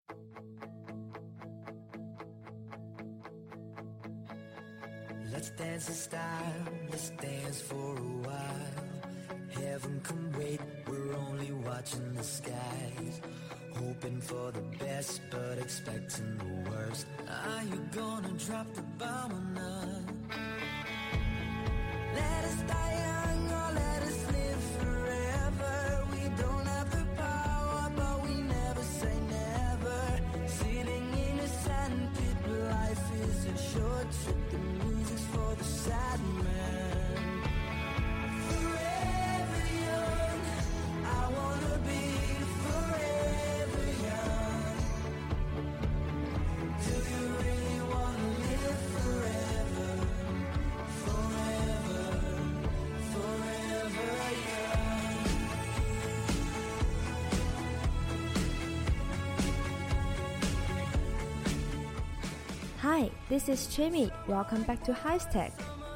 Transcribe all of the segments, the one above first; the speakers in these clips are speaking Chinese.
Let's dance in style, let's dance for a while. Heaven can wait, we're only watching the skies. Hoping for the best, but expecting the worst. Are you gonna drop the bomb or not? Let us die young or let us live forever. We don't have the power, but we never say never. Sitting in a sandpit, life is a short trip. The music's for the sad man. Forever young, I wanna be forever young. Do you really wanna live forever? Forever, forever young. Hi, this is Chimmy. Welcome back to HighTech.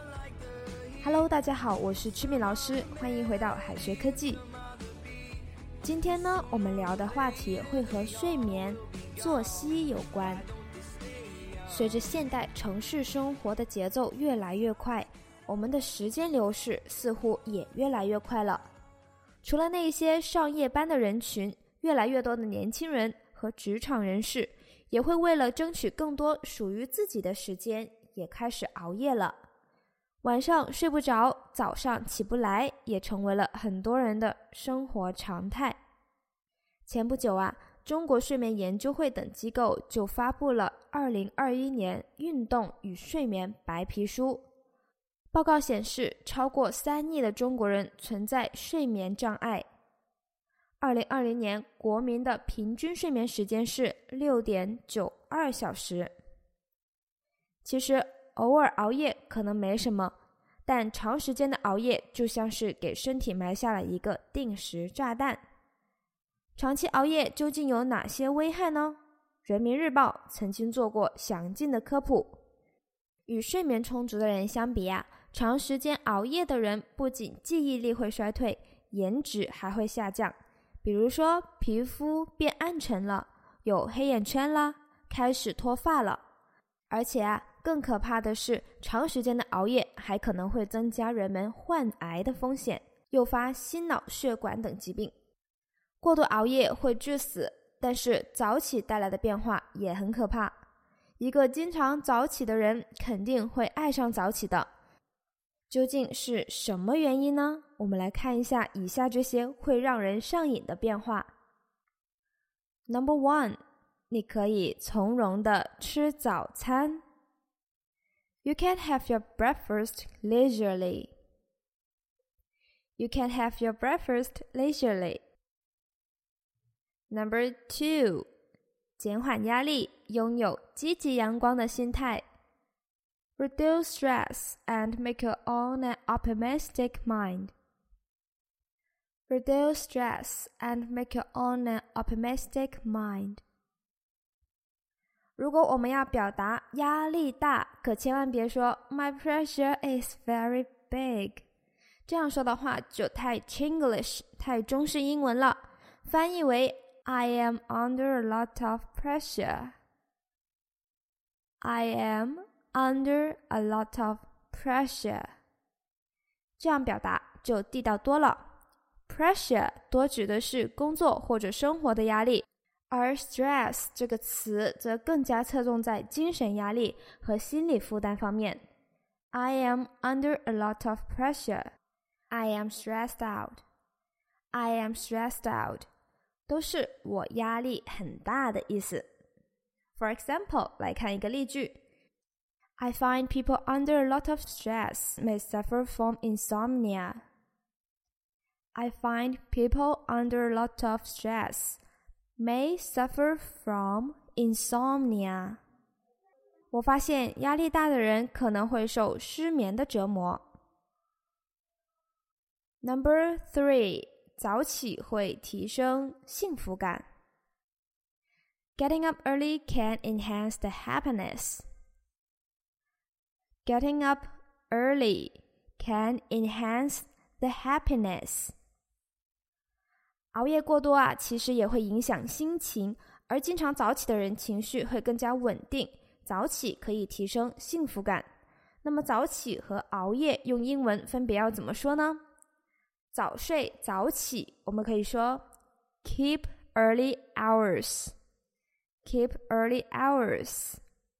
Hello, 大家好，我是 Chimmy 老师，欢迎回到海学科技。今天呢，我们聊的话题会和睡眠、作息有关。随着现代城市生活的节奏越来越快，我们的时间流逝似乎也越来越快了。除了那些上夜班的人群，越来越多的年轻人和职场人士也会为了争取更多属于自己的时间，也开始熬夜了。晚上睡不着，早上起不来，也成为了很多人的生活常态。前不久啊，中国睡眠研究会等机构就发布了2021年运动与睡眠白皮书。报告显示，超过3亿的中国人存在睡眠障碍。2020年国民的平均睡眠时间是 6.92 小时。其实偶尔熬夜可能没什么，但长时间的熬夜就像是给身体埋下了一个定时炸弹。长期熬夜究竟有哪些危害呢？人民日报曾经做过详尽的科普。与睡眠充足的人相比啊，长时间熬夜的人不仅记忆力会衰退，颜值还会下降。比如说皮肤变暗沉了，有黑眼圈啦，开始脱发了。而且啊，更可怕的是，长时间的熬夜还可能会增加人们患癌的风险，诱发心脑血管等疾病。过度熬夜会致死，但是早起带来的变化也很可怕。一个经常早起的人肯定会爱上早起的。究竟是什么原因呢？我们来看一下以下这些会让人上瘾的变化。Number 1， 你可以从容地吃早餐。You can have your breakfast leisurely. You can have your breakfast leisurely. Number 2， 减缓压力，拥有积极阳光的心态。Reduce stress and make your own an optimistic mind. Reduce stress and make your own an optimistic mind. 如果我们要表达压力大，可千万别说 My pressure is very big。 这样说的话就太 Chinglish， 太中式英文了。翻译为 I am under a lot of pressure. I am under a lot of pressure. 这样表达就地道多了。 Pressure 多指的是工作或者生活的压力，而 stress 这个词则更加侧重在精神压力和心理负担方面。 I am under a lot of pressure. I am stressed out. I am stressed out 都是我压力很大的意思。 For example， 来看一个例句。I find people under a lot of stress may suffer from insomnia. I find people under a lot of stress may suffer from insomnia. 我发现压力大的人可能会受失眠的折磨。Number 3， 早起会提升幸福感。Getting up early can enhance the happiness.Getting up early can enhance the happiness. 熬夜过多啊，其实也会影响心情， 而经常早起的人情绪会更加稳定，早起可以提升幸福感。那么早起和熬夜用英文分别要怎么说呢？早睡早起我们可以说 keep early hours Keep early hours.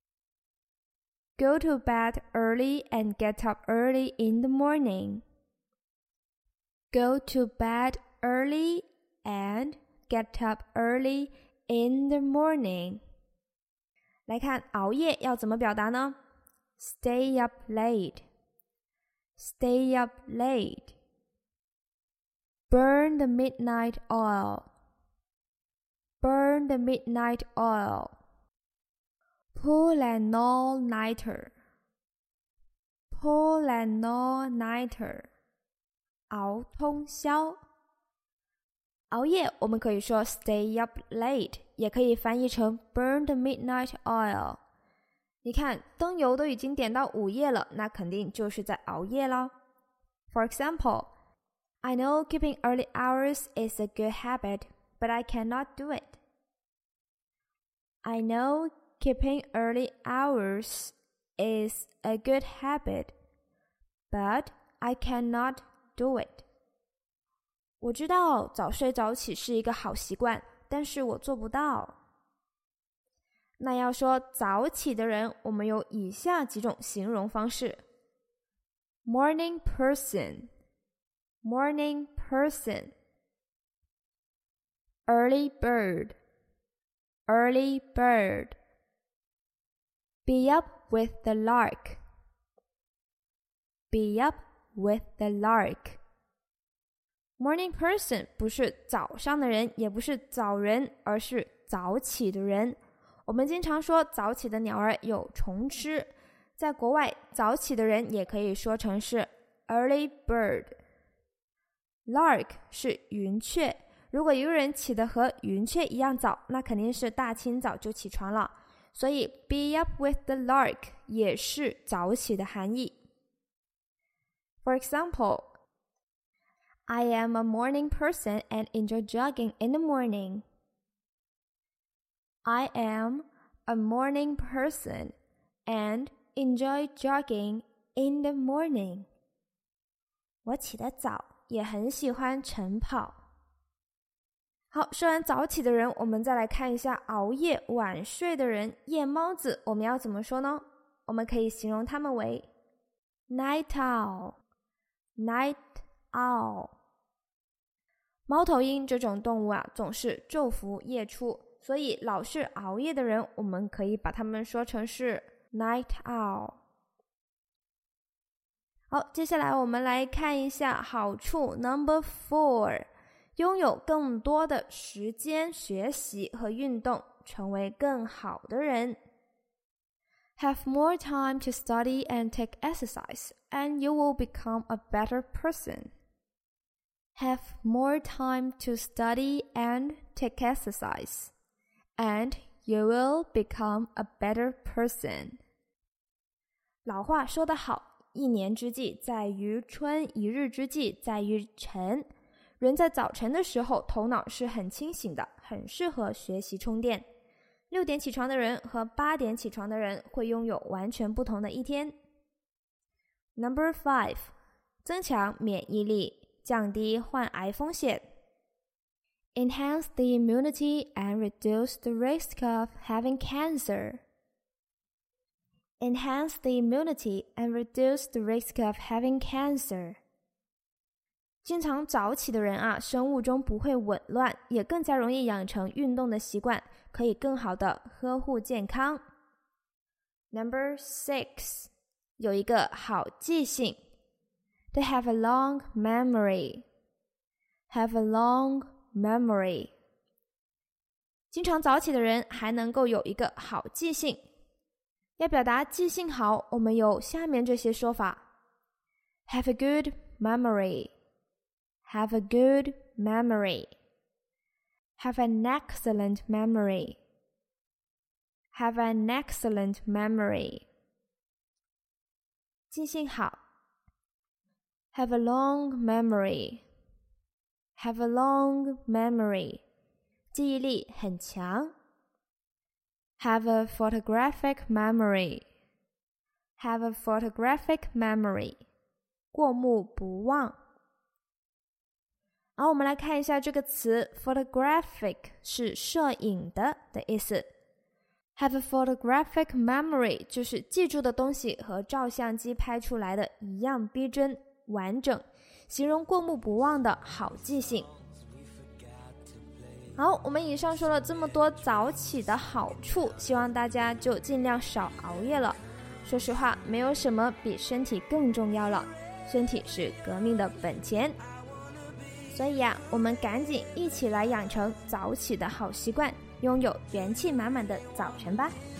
Go to bed early and get up early in the morning. Go to bed early and get up early in the morning. 来看熬夜要怎么表达呢？ Stay up late. Stay up late. Burn the midnight oil.Burn the midnight oil. Pull an all-nighter. Pull an all-nighter. 熬通宵。熬夜我们可以说 stay up late， 也可以翻译成 burn the midnight oil。 你看灯油都已经点到午夜了，那肯定就是在熬夜啦。 For example, I know keeping early hours is a good habit,But I cannot do it. I know keeping early hours is a good habit, but I cannot do it. 我知道早睡早起是一个好习惯，但是我做不到。那要说早起的人，我们有以下几种形容方式。Morning person, morning person.Early bird, early bird. Be up with the lark. Be up with the lark. Morning person 不是早上的人，也不是早人，而是早起的人。我们经常说早起的鸟儿有虫吃，在国外早起的人也可以说成是 early bird. Lark 是云雀，如果一个人起得和云雀一样早，那肯定是大清早就起床了，所以 be up with the lark 也是早起的含义。For example, I am a morning person and enjoy jogging in the morning. I am a morning person and enjoy jogging in the morning. 我起得早，也很喜欢晨跑。好，说完早起的人，我们再来看一下熬夜晚睡的人，夜猫子，我们要怎么说呢？我们可以形容他们为 night owl, night owl。 猫头鹰这种动物啊，总是昼伏夜出，所以老是熬夜的人，我们可以把他们说成是 night owl。 好，接下来我们来看一下好处 Number 4，拥有更多的时间学习和运动，成为更好的人。 Have more time to study and take exercise, and you will become a better person. Have more time to study and take exercise, and you will become a better person. 老话说得好，一年之计在于春，一日之计在于晨。人在早晨的时候头脑是很清醒的，很适合学习充电。6点起床的人和8点起床的人会拥有完全不同的一天。 Number 5， 增强免疫力，降低患癌风险。 Enhance the immunity and reduce the risk of having cancer. Enhance the immunity and reduce the risk of having cancer. 经常早起的人啊，生物钟不会紊乱，也更加容易养成运动的习惯，可以更好的呵护健康。 Number 6， 有一个好记性。 They have a long memory. Have a long memory. 经常早起的人还能够有一个好记性。要表达记性好，我们有下面这些说法。 Have a good memory.Have a good memory. Have an excellent memory. Have an excellent memory. 记性好。 Have a long memory. Have a long memory. 记忆力很强。 Have a photographic memory. Have a photographic memory. 过目不忘。好，我们来看一下这个词 photographic 是摄影的意思。Have a photographic memory 就是记住的东西和照相机拍出来的一样逼真完整，形容过目不忘的好记性。好，我们以上说了这么多早起的好处，希望大家就尽量少熬夜了。说实话，没有什么比身体更重要了，身体是革命的本钱。所以我们赶紧一起来养成早起的好习惯，拥有元气满满的早晨吧。